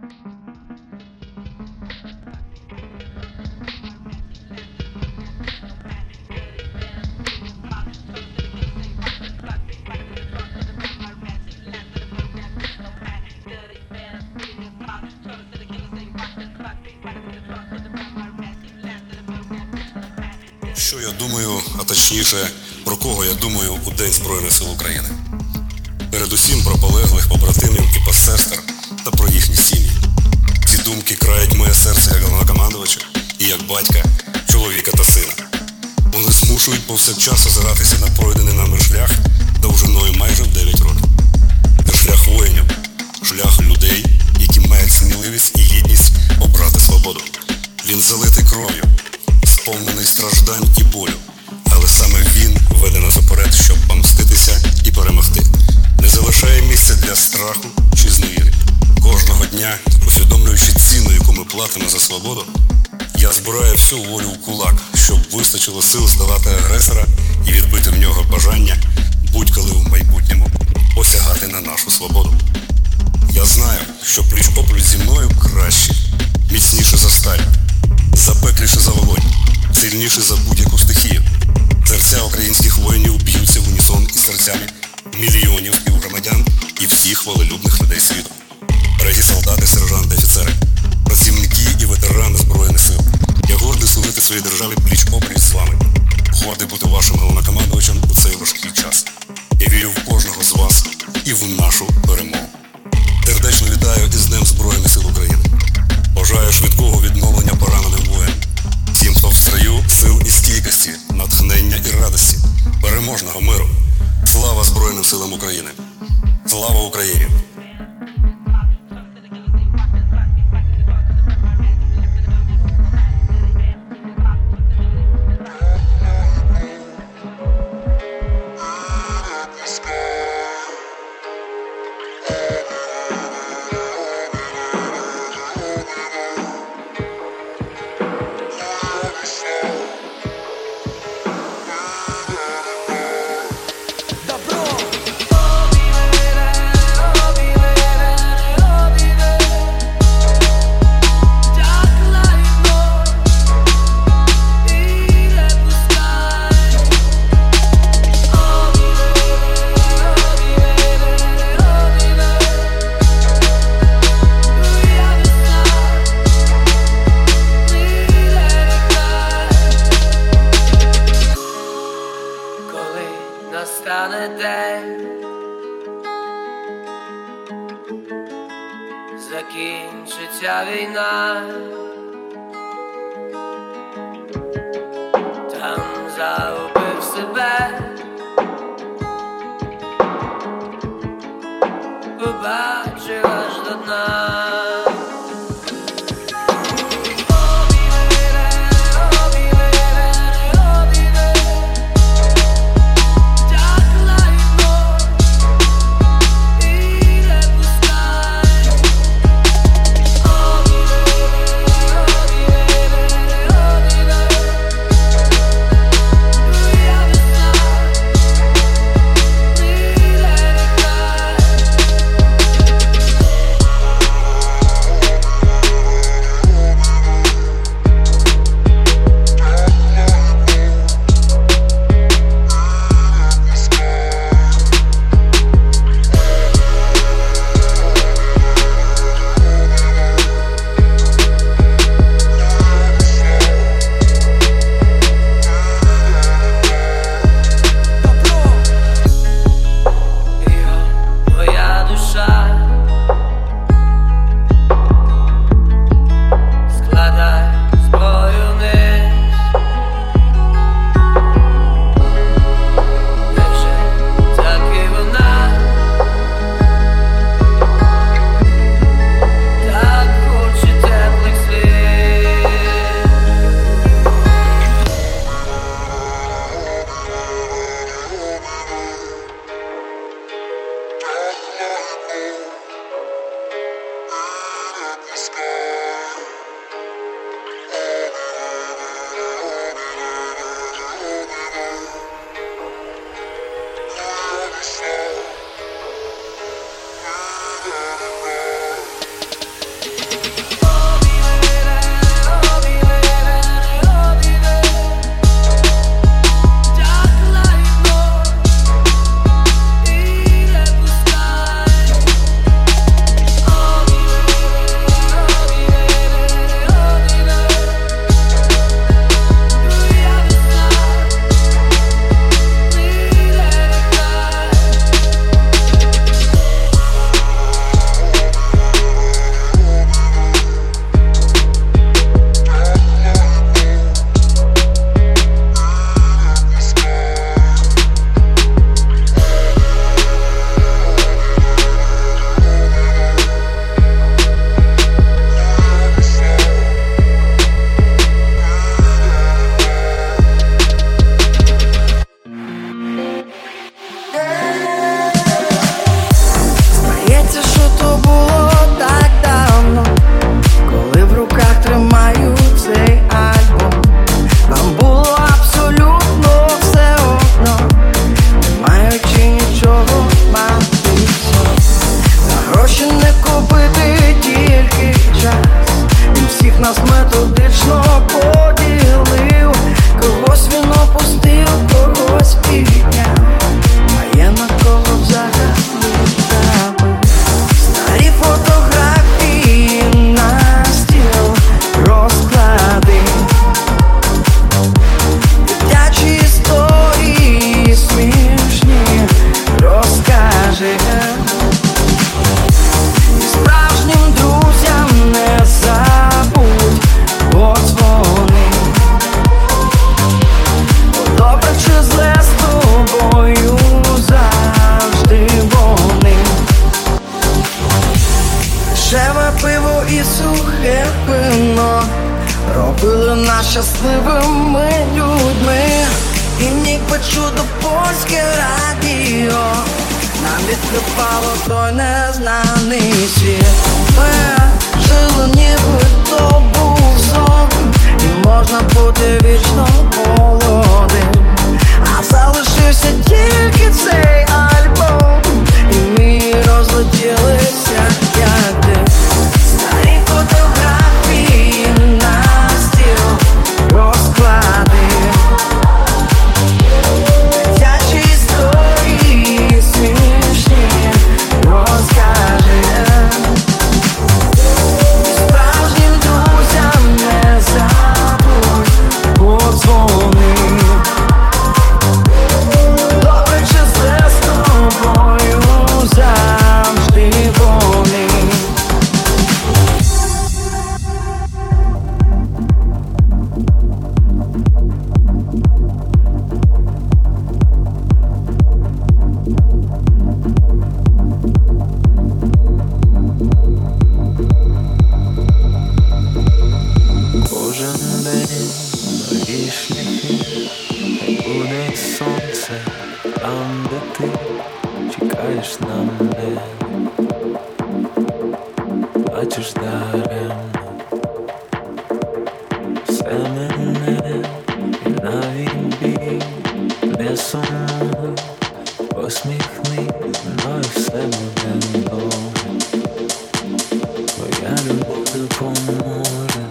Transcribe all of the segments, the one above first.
Що я думаю, а точніше, про кого я думаю у День Збройних Сил України. Передусім про полеглих побратимів і посестер та про їхні сім'ї. Ці думки крають моє серце як головнокомандувача і як батька, чоловіка та сина. Вони змушують повсякчас озиратися на пройдений нами шлях довжиною майже в 9 років. Це шлях воїнів, шлях людей, які мають сміливість і гідність обрати свободу. Він залитий кров'ю, сповнений страждань і болю, але саме він веде нас уперед, щоб помститися і перемогти. Не залишає місця для страху чи зневіри. Кожного дня, усвідомлюючи ціну, яку ми платимо за свободу, я збираю всю волю в кулак, щоб вистачило сил здолати агресора і відбити в нього бажання будь-коли в майбутньому посягати на нашу свободу. Я знаю, що пліч-опліч зі мною краще, міцніше за сталь, запекліше за вогонь, сильніше за будь-яку стихію. Серця українських воїнів б'ються в унісон із серцями мільйонів співгромадян і всіх волелюбних людей світу. Дорогі солдати, сержанти, офіцери, працівники і ветерани Збройних Сил, я гордий служити своїй державі пліч-опліч з вами. Гордий бути вашим головнокомандувачем у цей важкий час. Я вірю в кожного з вас і в нашу перемогу. Сердечно вітаю із Днем Збройних Сил України. Бажаю швидкого відновлення пораненим воїнам. Всім, хто в строю, сил і стійкості, натхнення і радості, переможного миру. Слава Збройним Силам України! Слава Україні! Настане день, закінчиться війна, там загубив себе, побачив аж до дна. купити тільки час. Він всіх нас методично поділив. Когось він опустив, когось підняв, а є на кого взагалі забив. Старі фотографії на стіл розклади, дитячі історії смішні розкажи. І справжнім друзям не забудь подзвони. Добре чи зле з тобою завжди вони. Дешеве пиво і сухе вино робили нас щасливими людьми. І ніби чудо польське радіо нам відкривало той незнаний світ. Ми жили, ніби то був сон, і можна бути вічно молодим. А залишився тільки цей альбом, і ми розлетілися, як дим. Старі фотографії на стіл розклади, дитячі історії смішні розкажи. І справжнім друзям не забудь подзвони. Добре чи зле з тобою завжди вони. Кожен день нові шляхи, хай буде сонце там, де ти чекаєш на мене. Бачиш даремно все мене, і навіть біль не сумуй. Посміхнись, мною все буде добре. Твоя любов допоможе.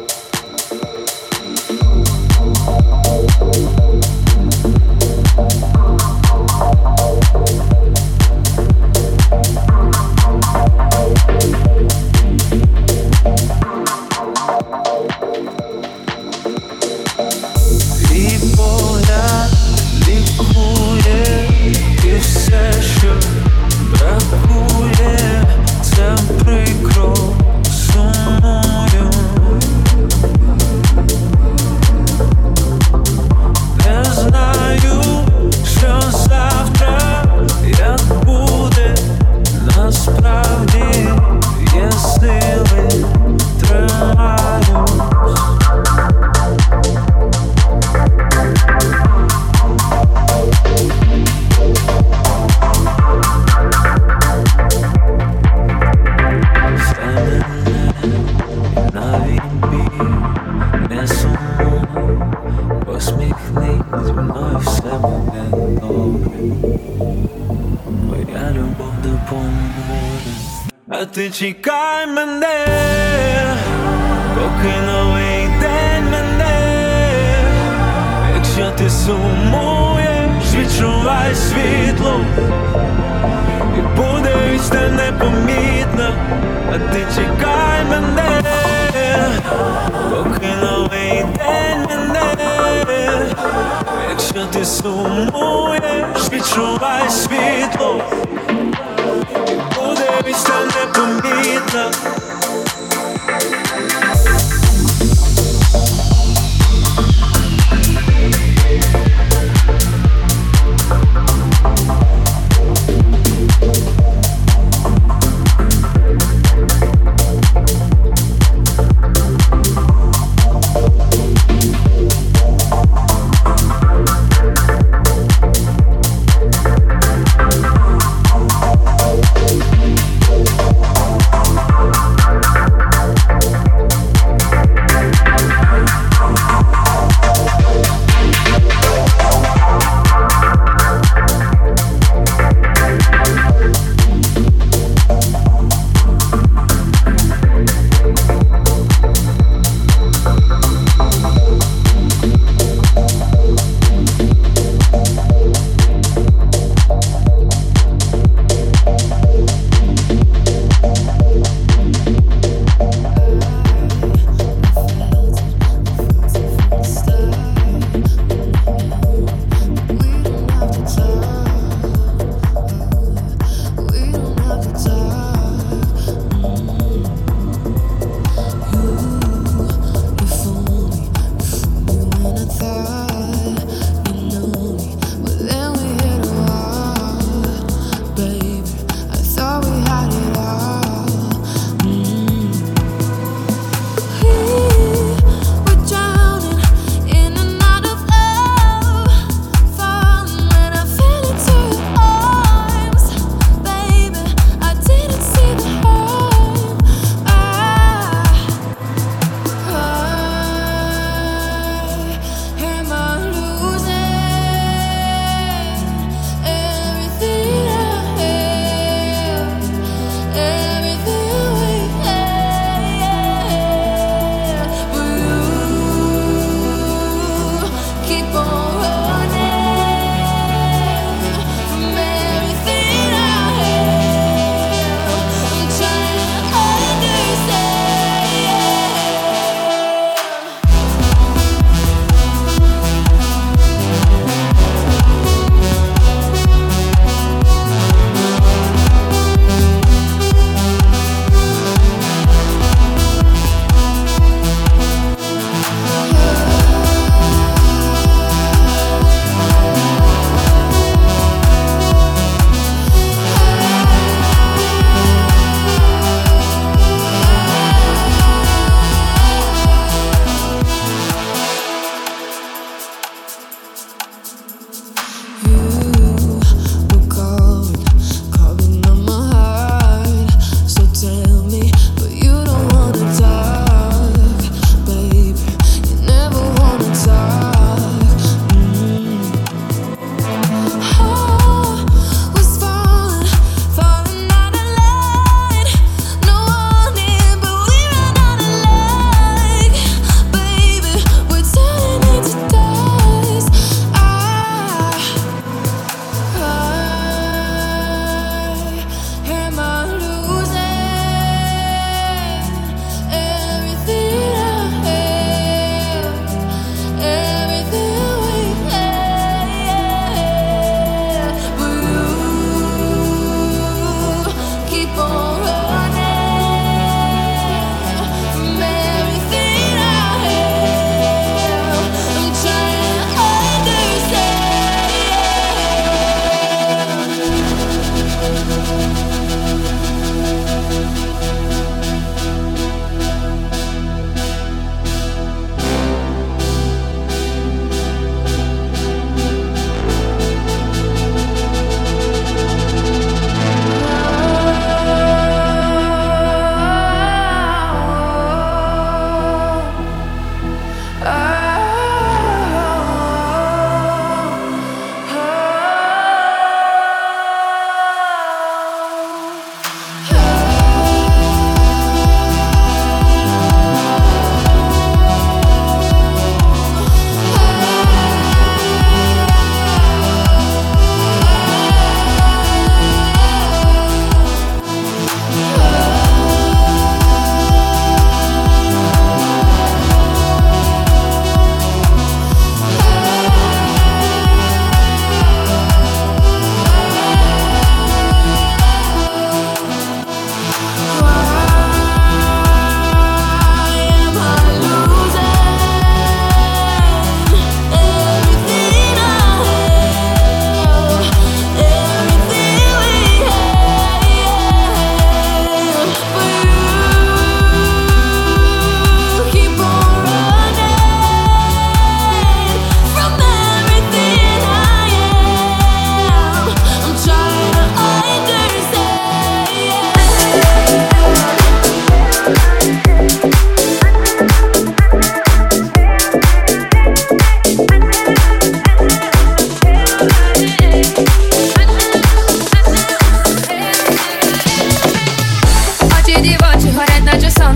Твій погляд лікує, і все, що бракує, це прикро сумую. Не знаю, що завтра, як буде, насправді є сили, тримаюсь. Все мене, навіть біль не сумуй. Посміхнись, зі мною все буде добре. Твоя любов допоможе. А ти чекай мене, поки новий день мене. Якщо ти сумуєш, відчувай світло, і буде вічно непомітно. А ти чекай мене, поки новий день мене. Якщо ти сумуєш, відчувай світло, і буде вічно непомітно.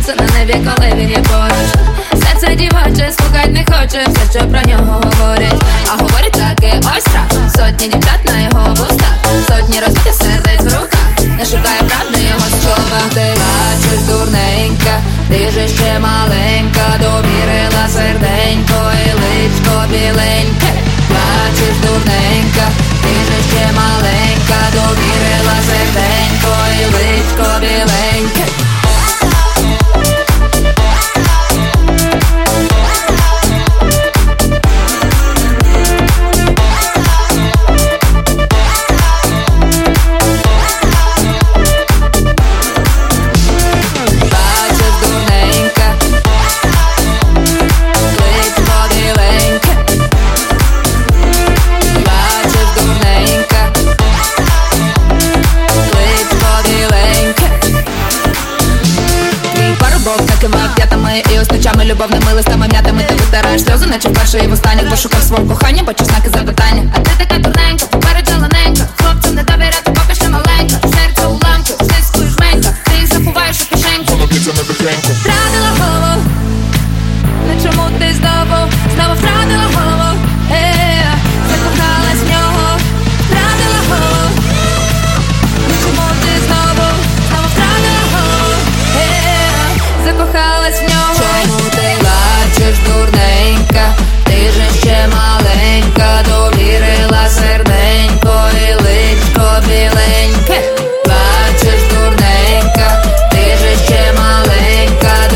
сонце на небі, коли він є поруч. Серце дівоче, слухать не хоче все, що про нього говорять. А говорять таки ось так. Сотні дівчат на його вустах, сотні розбитих сердець в руках. Не шукає правди його слова. Ти бачиш, дурненька, ти же ще маленька, довірила серденько і личко біленьке. Бачиш, дурненька, ти же ще маленька, довірила серденько і личко біленьке. І ось ночами любовними листами м'ятами ти витираєш сльози, наче вперше і востаннє пошукав свого кохання, бачу знаки запитання. А ти така дурненька, поперед зелененька, хлопцям не довіряти, поки ще маленька. Серце уламки, стиску і жменька, ти їх заховаєш у кишеньку. Втратила голову, не чому ти знову втратила голову, закохалась в нього. Втратила голову, не чому ти знову втратила голову, закохалась в нього. Чому ти бачиш, дурненька, ти же ще маленька, довірила серденько і личко біленьке. Бачиш, дурненька, ти же ще маленька,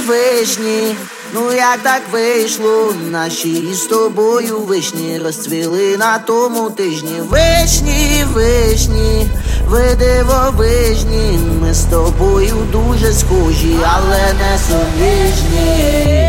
вишні, ну як так вийшло, наші з тобою вишні розцвіли на тому тижні. Вишні, вишні, ви дивовижні, ми з тобою дуже схожі, але не суміжні.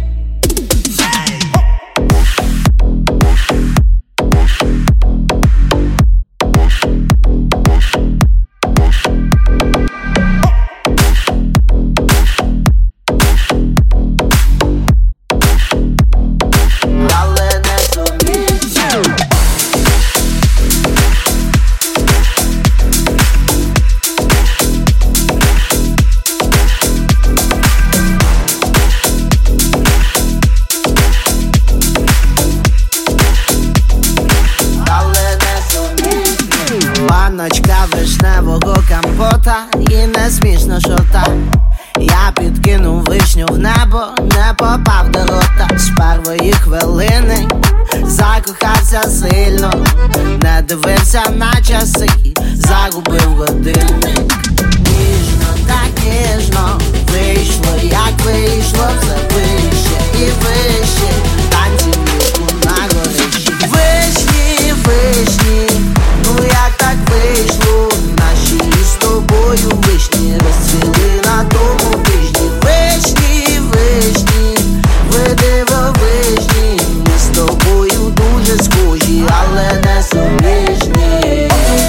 Баночка вишневого компота, і не смішно, що так. Я підкинув вишню в небо, не попав до рота. З першої хвилини закохався сильно, не дивився на часи, загубив годинник. Ніжно, так ніжно вийшло, як вийшло, все вище і вище, танці мішку на горищі. Вишні, вишні, ну як так вийшло, наші з тобою вишні розцвіли на тому тижні. Вишні, вишні, ви дивовижні, ми з тобою дуже схожі, але не суміжні.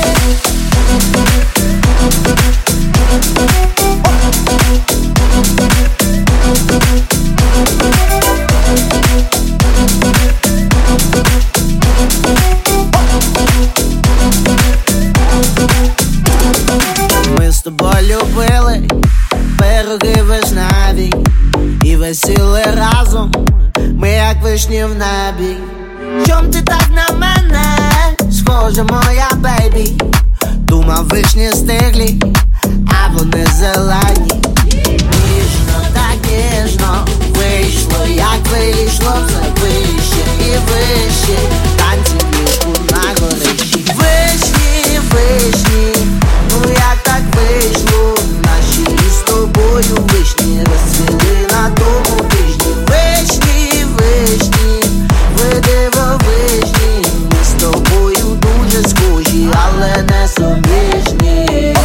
Ми з тобою любили пироги вишневі і весіли разом, ми як вишні в небі. Чом ти так на мене схожа, моя бейбі? Думав, вишні стиглі, а вони зелені. Ніжно, так ніжно вийшло, як вийшло, все вище і вище, танці мішку на горищі. Вишні, вишні, ну як так вийшло, наші з тобою вишні розцвіли на тому тижні. Вишні, вишні, ви дивовижні, ми з тобою дуже схожі, але не суміжні.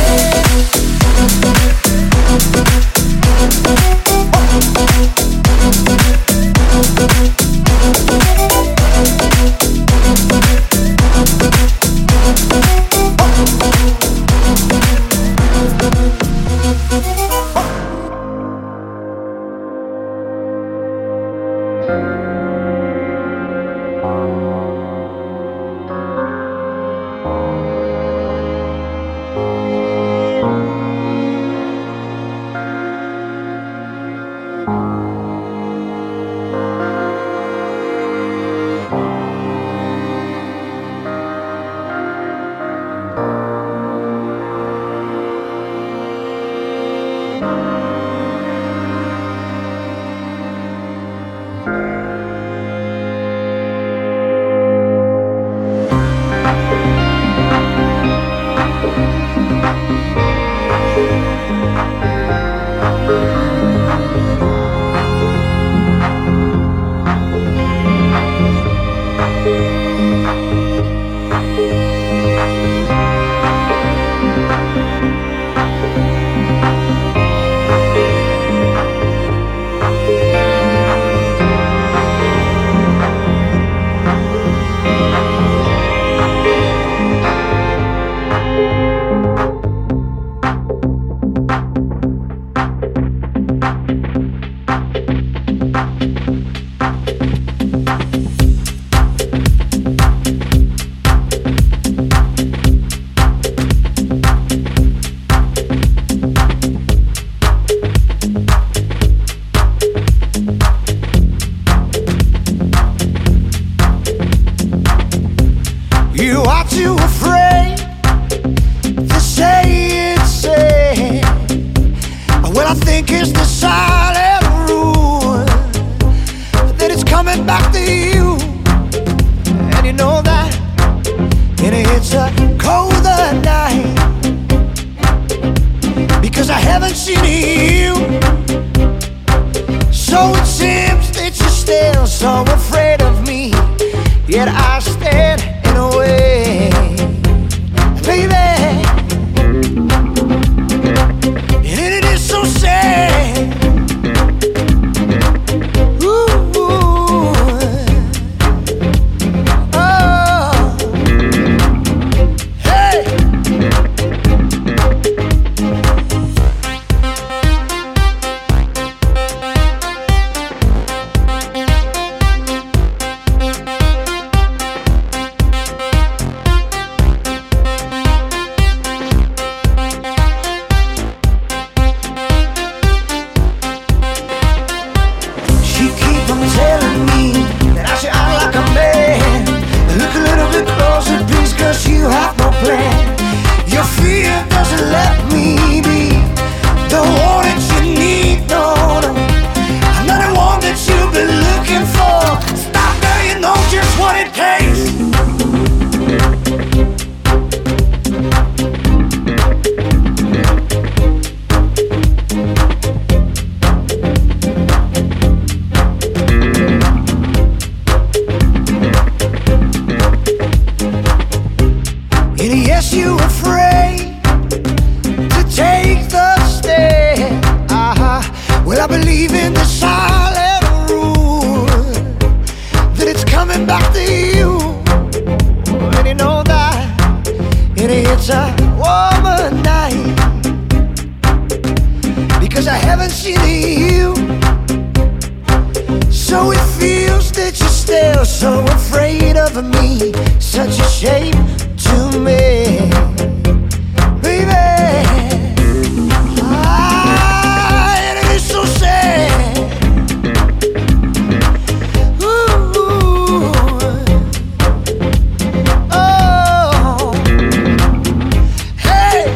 You are too afraid to say it's sad. Well, I think it's the silent rule that it's coming back to you, and you know that. And it's a colder night because I haven't seen you So it seems that you're still so afraid of me, yet I stand in a way, baby. And it is so sad. Ooh, oh. Hey. She keep on telling me that I should act like a man. Look a little bit closer, please, cause you have no plan. Your fear doesn't let me be the one that you need, no, no. I'm not the one that you've been looking for. Stop now, you know just what it takes. And yes, you're afraid to take the step. Well, I believe in the silent rule that it's coming back to you. And you know that it's a warmer night, because I haven't seen you. So it feels that you're still so afraid of me. Such a shame to me, baby. And it is so sad. Ooh, oh, hey.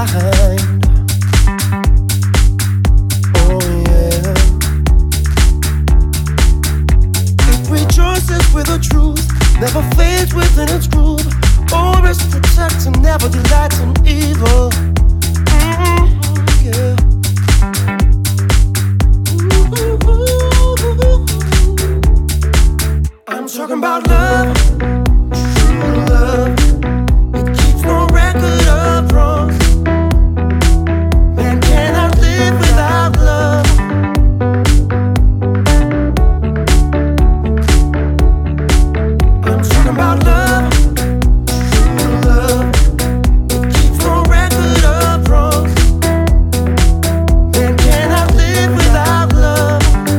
behind. Oh yeah. It rejoices with the truth, never fades within its groove. Always protects and never delights in evil. Yeah. I'm talking about love, true love. It keeps no record of wrongs. Man cannot live without love. I'm talking about love, true love. It keeps no record of wrongs. Man cannot live without love.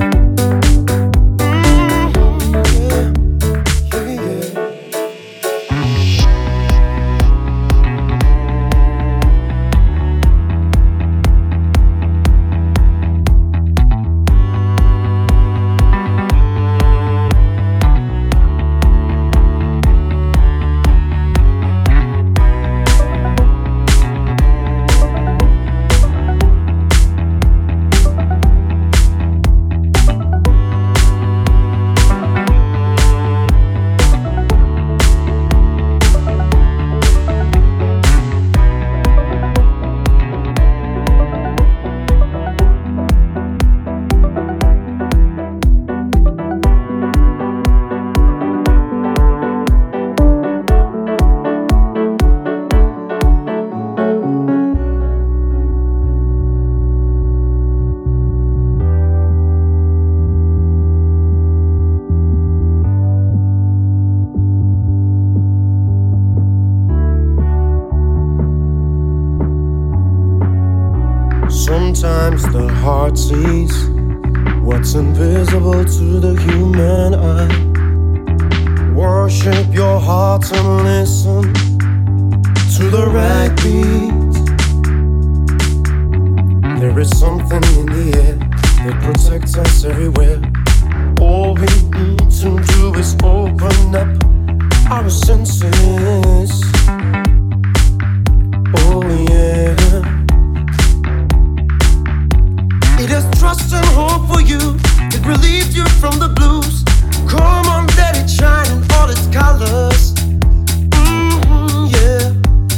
Sometimes the heart sees what's invisible to the human eye. Worship your heart and listen to the right beat. There is something in the air that protects us everywhere. All we need to do is open up our senses. Oh yeah. It has trust and hope for you. It relieves you from the blues. Come on, let it shine in all its colors. Yeah.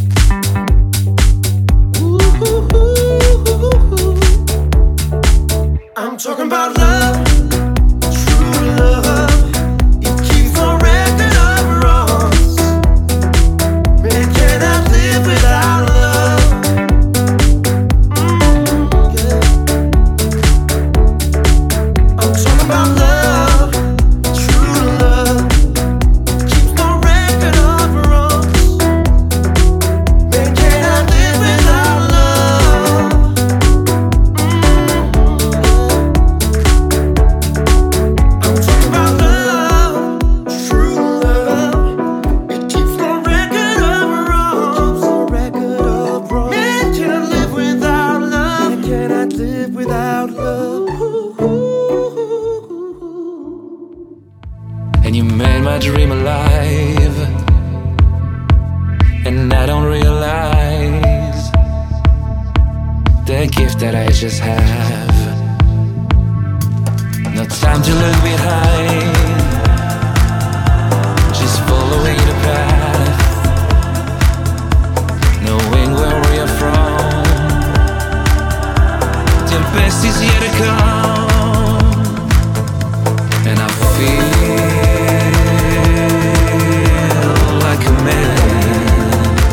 Ooh. I'm talking about love, true love. It keeps no record of wrongs. Man cannot live without love. Just have no time to look behind, just following the path, knowing where we are from. The best is yet to come, and I feel like a man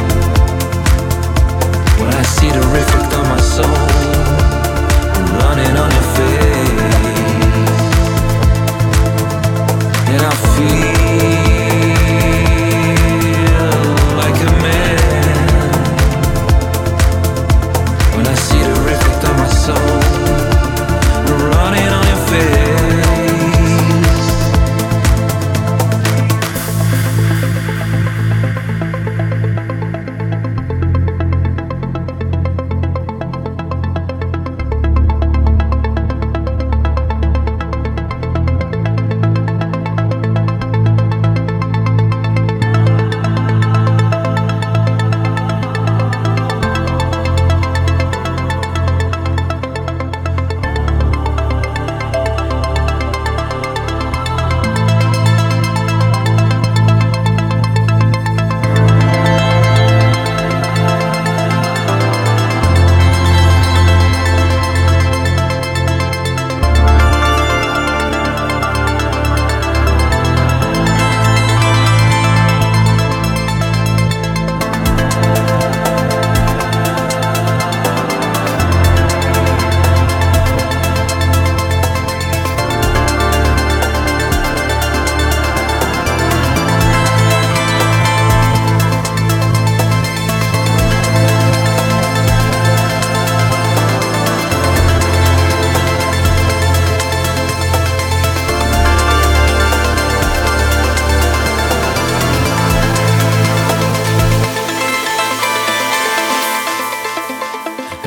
when I see the reflect on my soul running on your face, and I feel like a man when I see the reflect of my soul running on your face.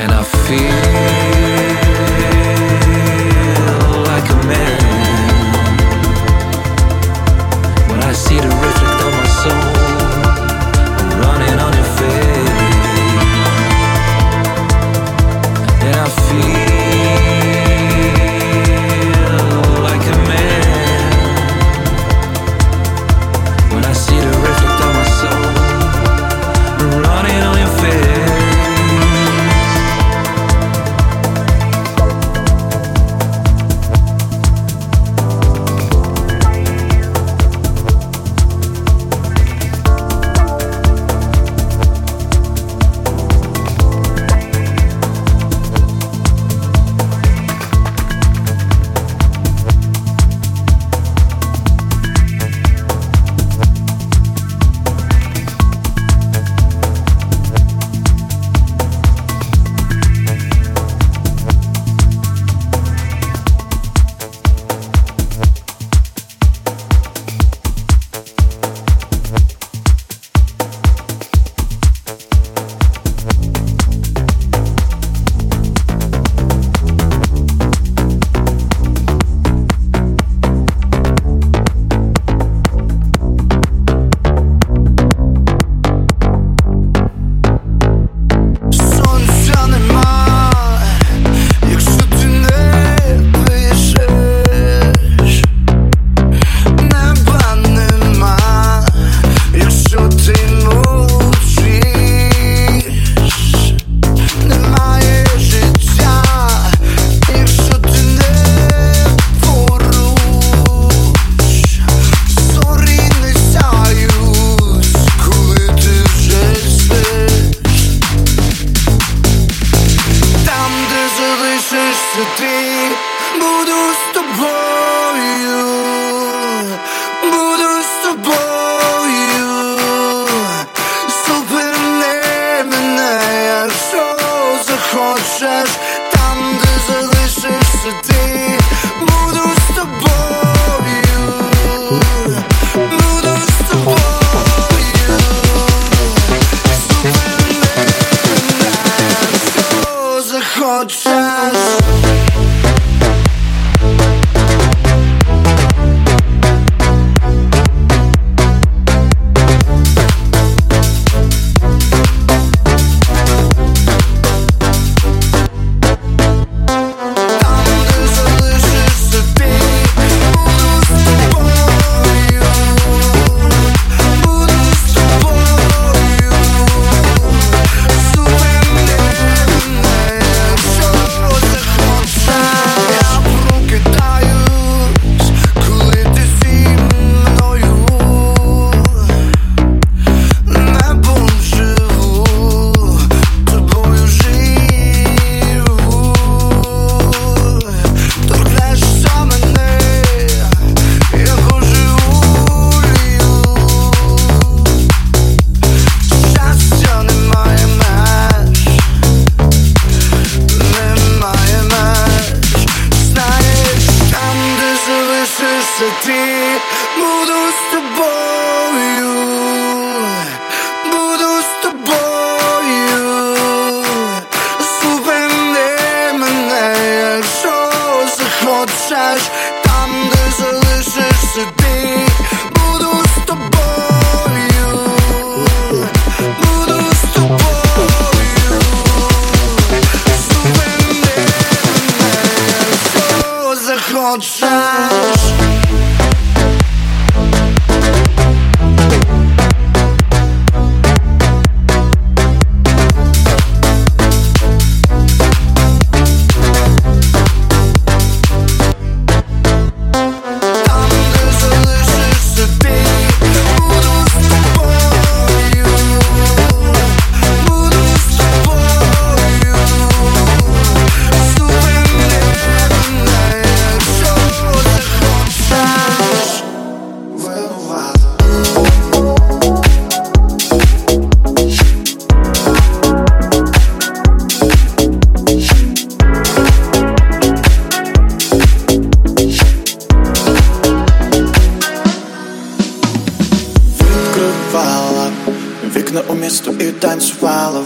And I feel like a man when I see the reflect of my soul running on your face. And I feel like a man when I see the reflect of my soul running on your face.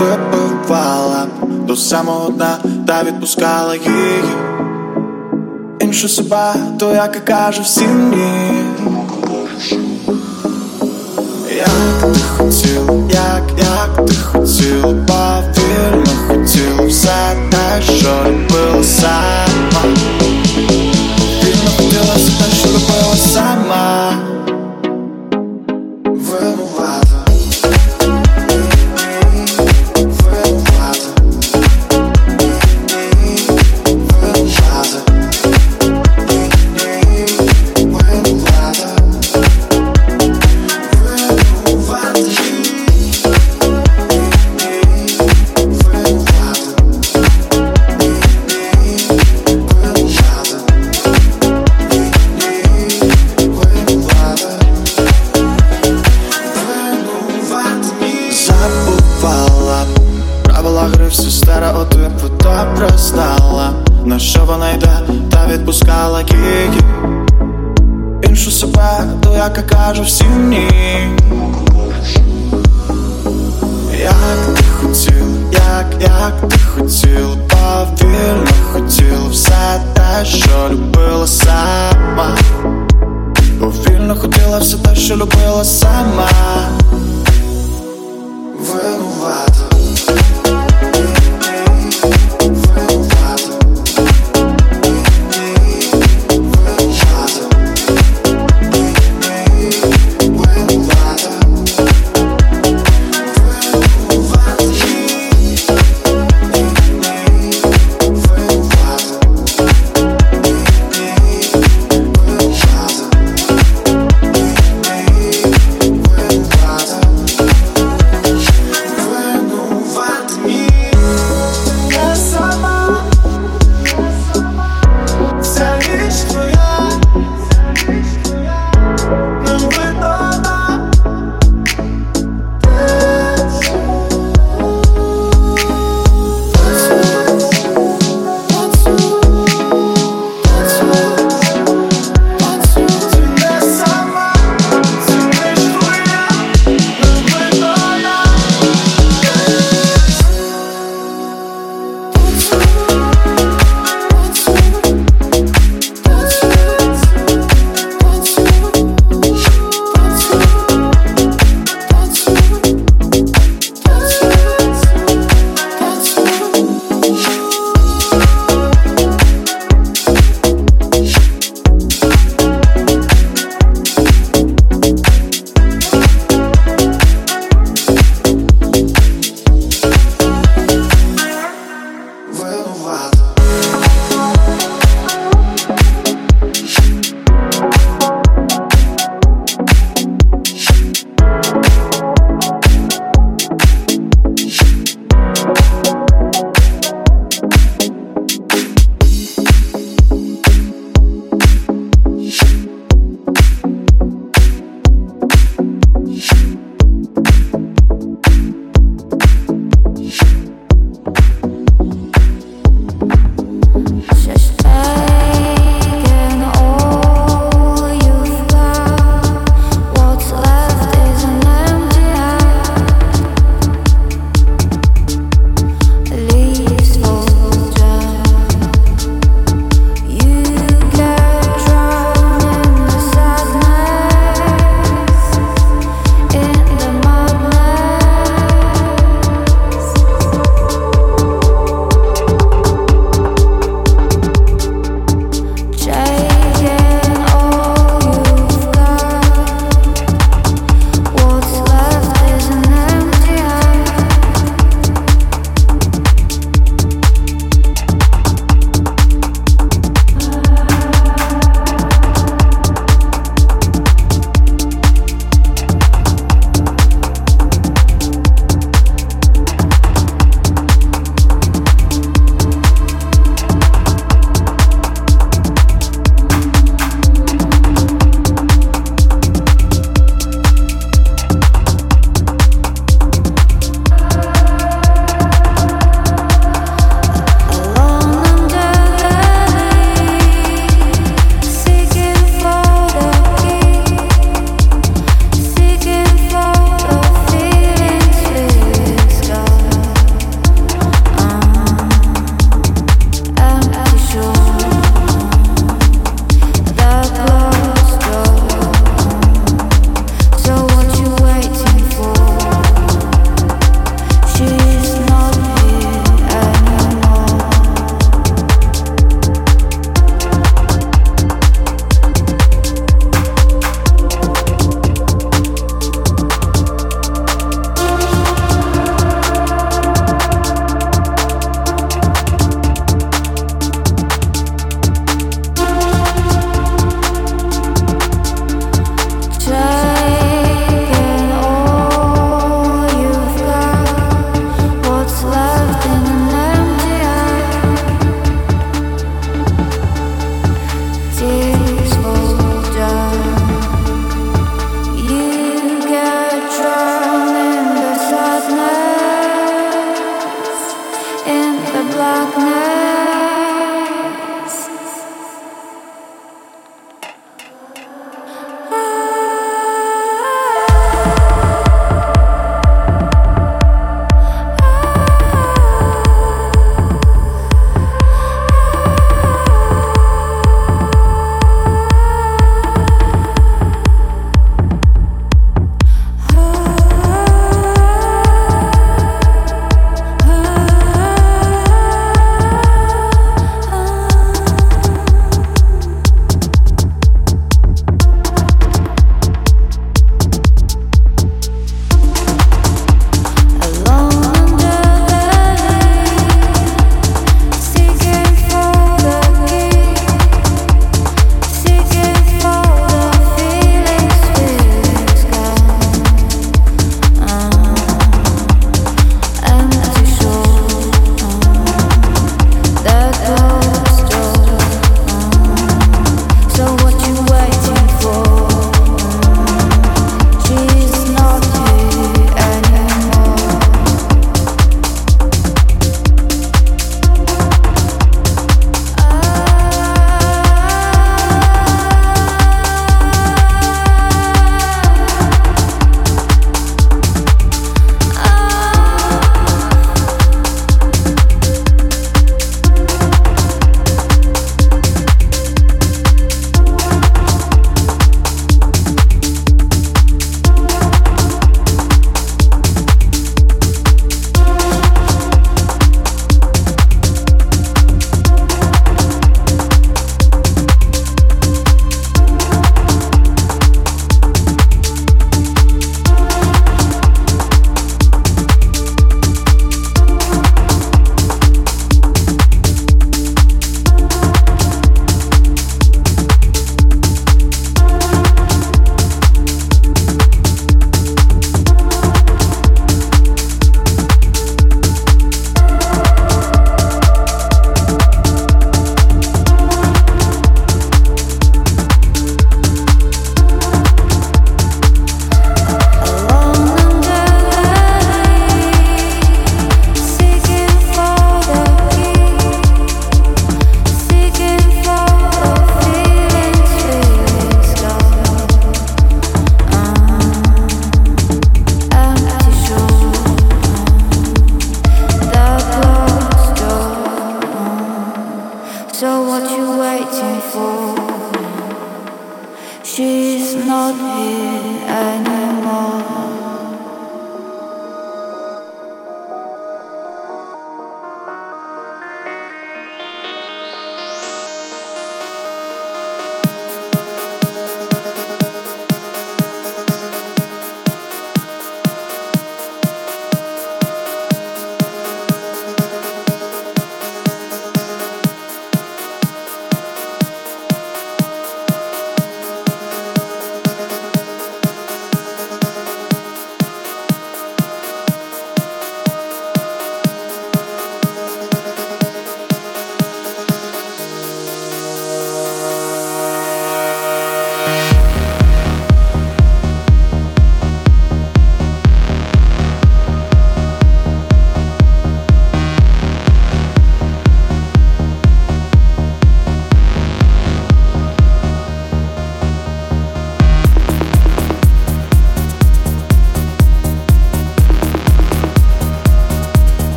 випивала до самого дна та відпускала її. Іншу себе, то яка каже всім ні. Як ти хотіла, як ти хотіла, повільно хотіла все те, що любила сама. Повільно хотіла все те, що любила сама. Винувата. Правила гри, всі стереотипи добре знала. На що вона йде, та відпускала її. Іншу себе, то яка каже всім ні. Як ти хотіла, як ти хотіла, повільно хотіла все те, що любила сама. Повільно хотіла все те, що любила сама. Винувата.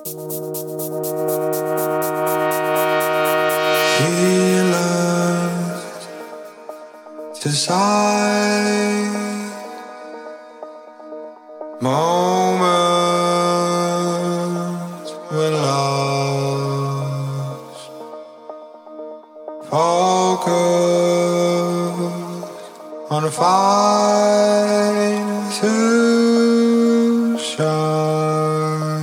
Moments when lost, focus on a fire to shine.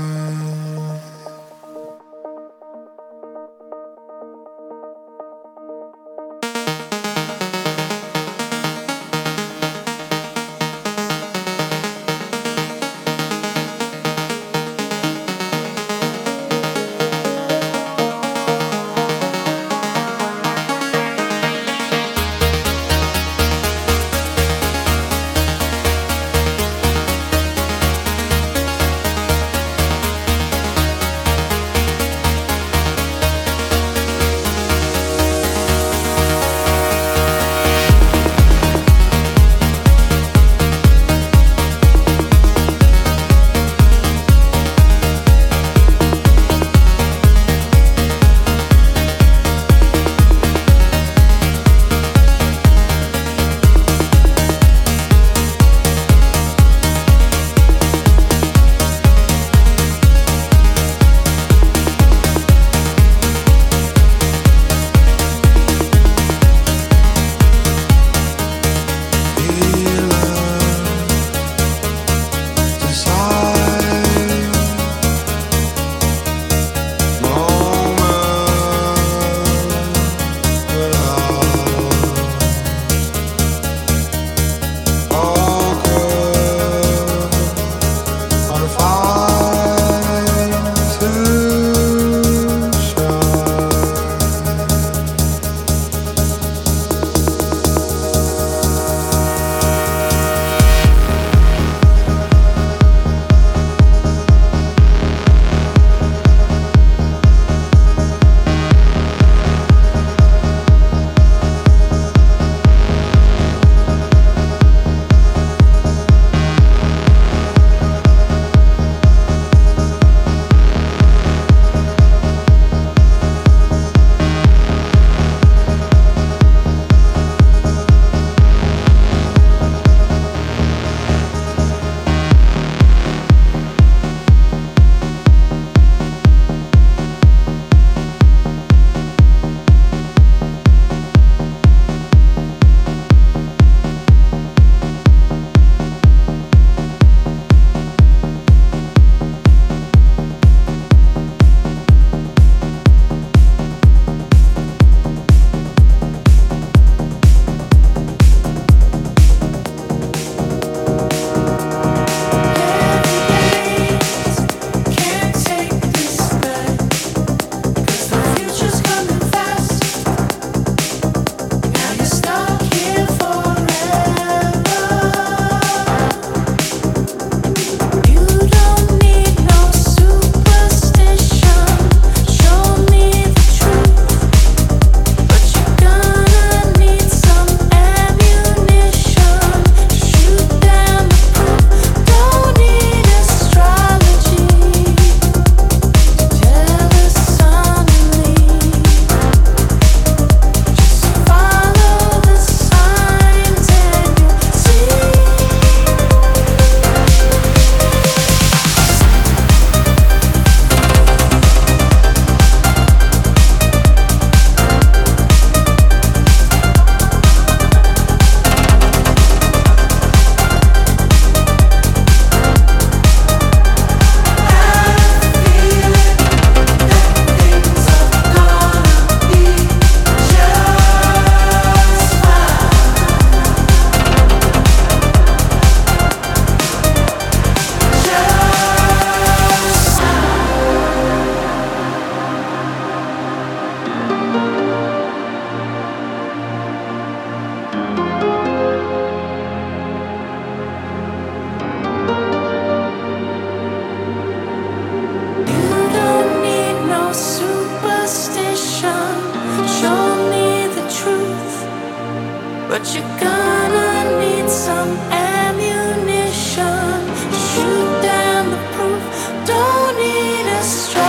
Don't need a strong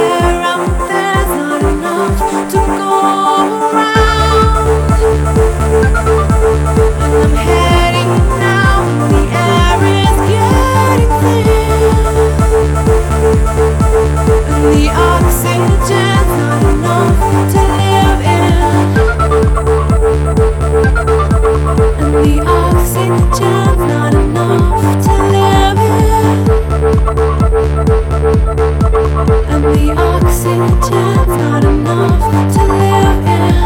air out there's not enough to go around. And I'm heading now, the air is getting thin, and the oxygen's not enough to live in. And the oxygen's not enough to live in. And the oxygen's not enough to live in.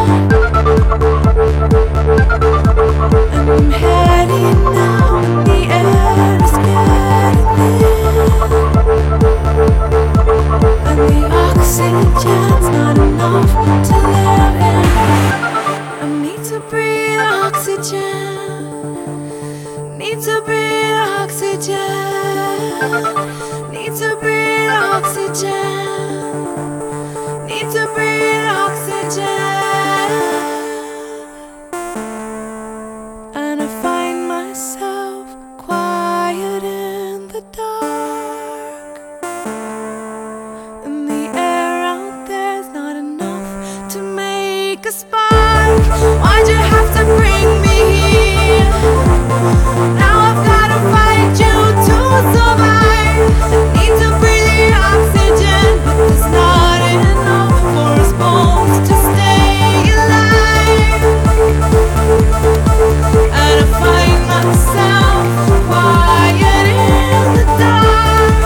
And I'm heading now, the air is getting thin, and the oxygen's not enough to live in. I need to breathe oxygen. Need to breathe oxygen. Need to breathe oxygen. Need to breathe oxygen. And I find myself quiet in the dark. And the air out there's not enough to make a spark. Why'd you have to bring me here? Now I've gotta fight you to survive. I need to breathe the oxygen, but there's not enough for us both to stay alive. And I find myself quiet in the dark.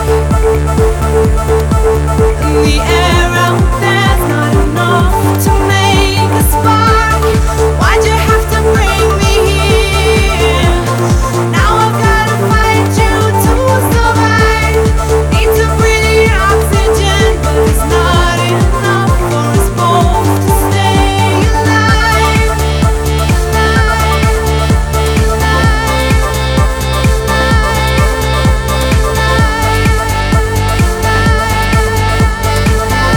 And the air out there's not enough to make a spark. Why'd you have to bring me here? Now I've gotta fight you to survive. Need to breathe the oxygen, but it's not enough for us both to stay alive. Alive.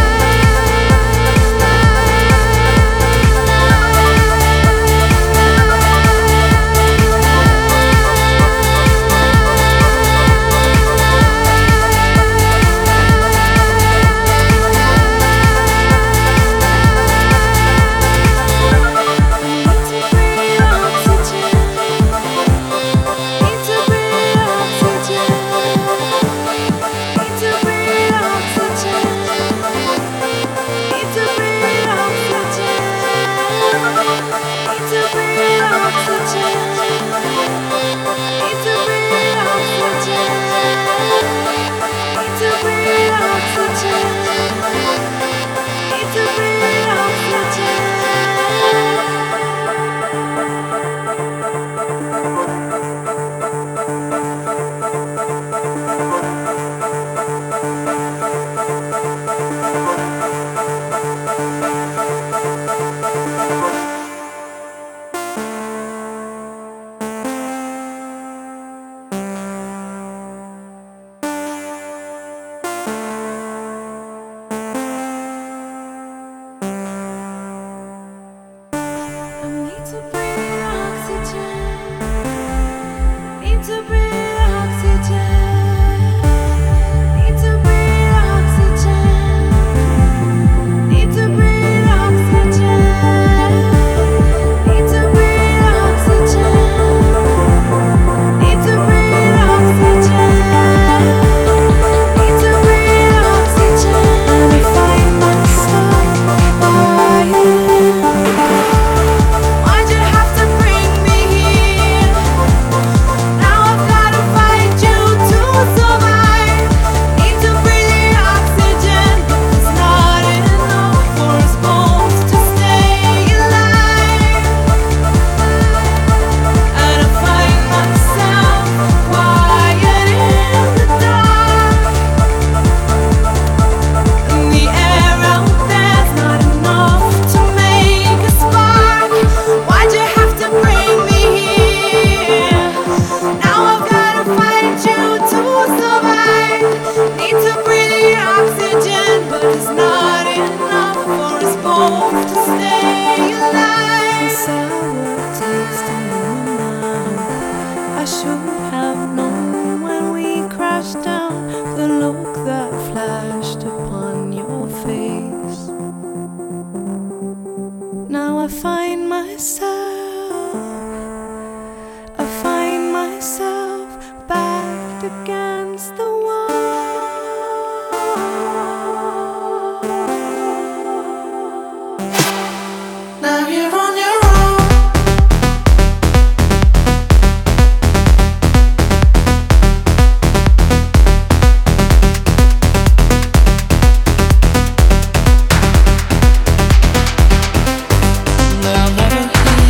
myself, I find myself backed against the wall. Now you're on your own. But I'll never hear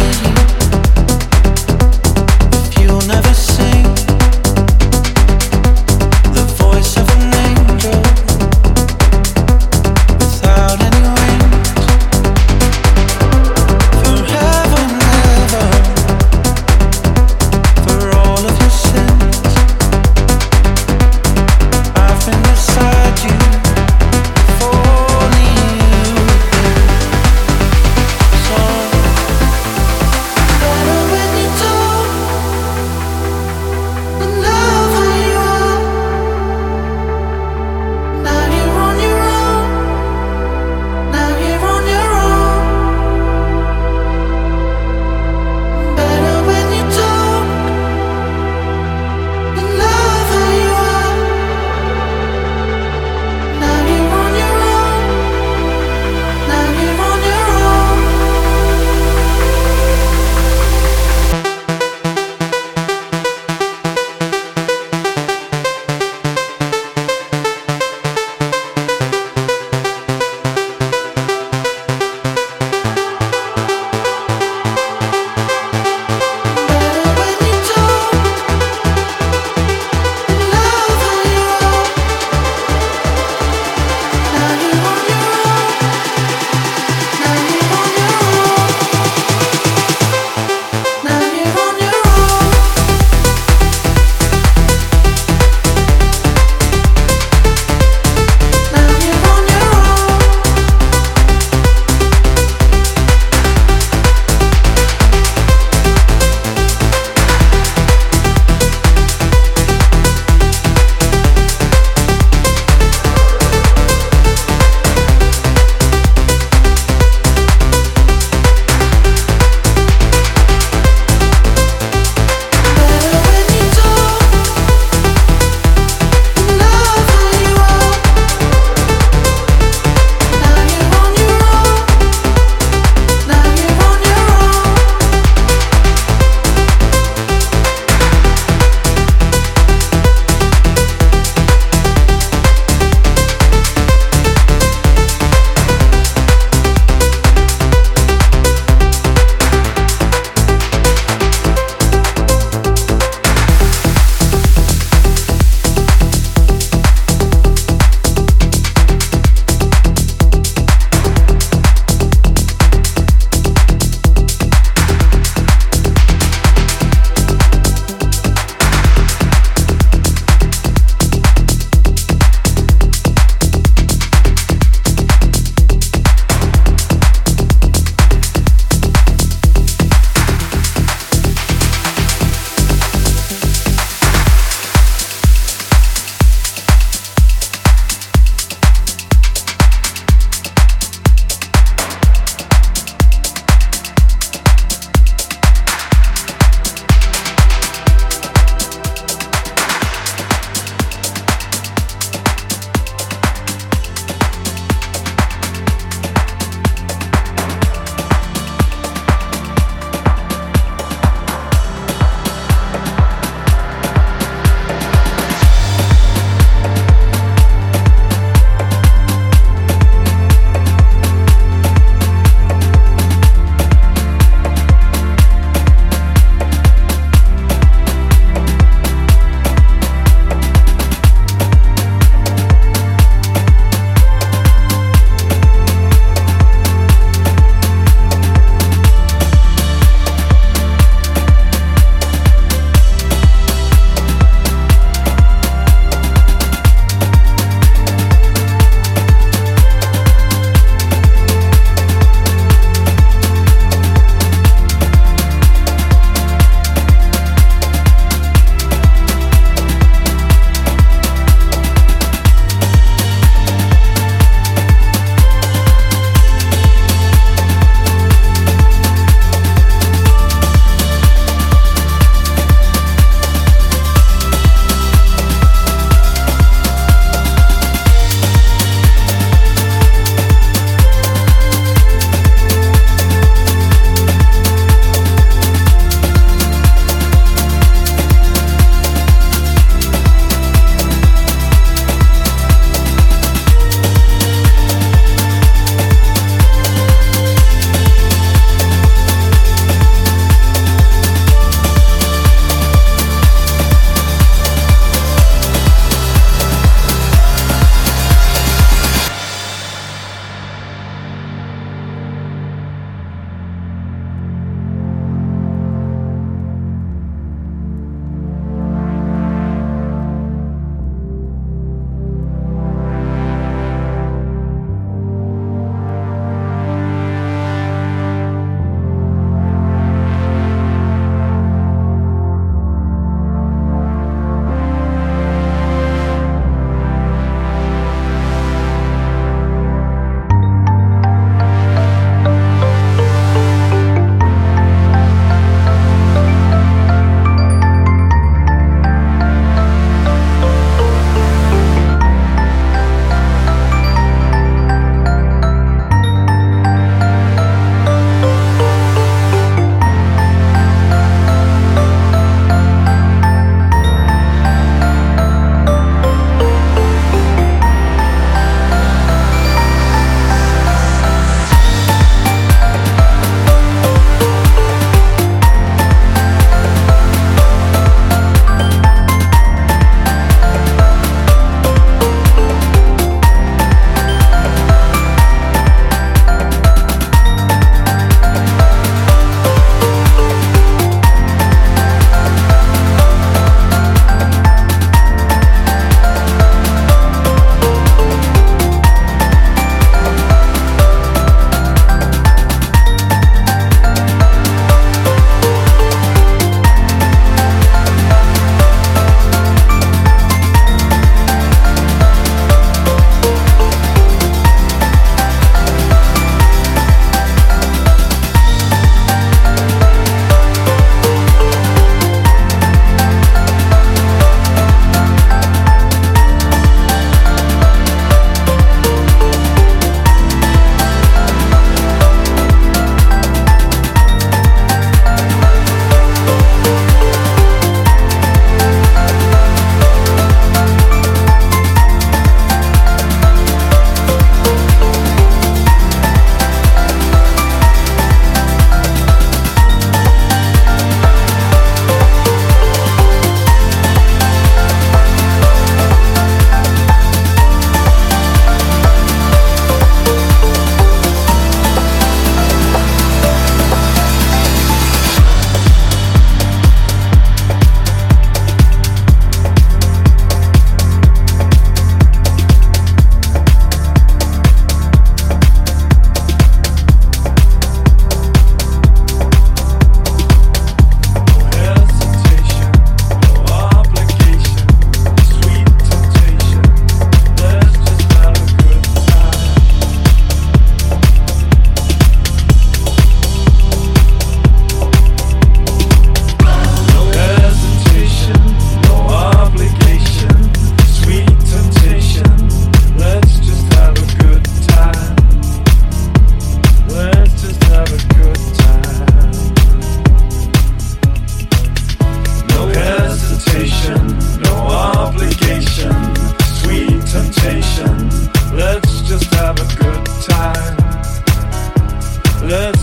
love